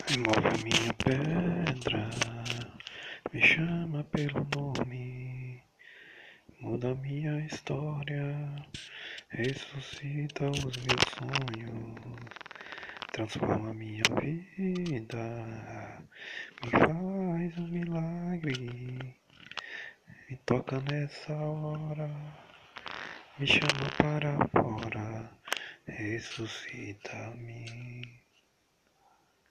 Move a minha pedra, me chama pelo nome, muda minha história, ressuscita os meus sonhos, transforma minha vida, me faz um milagre, me toca nessa hora, me chama para fora, ressuscita-me.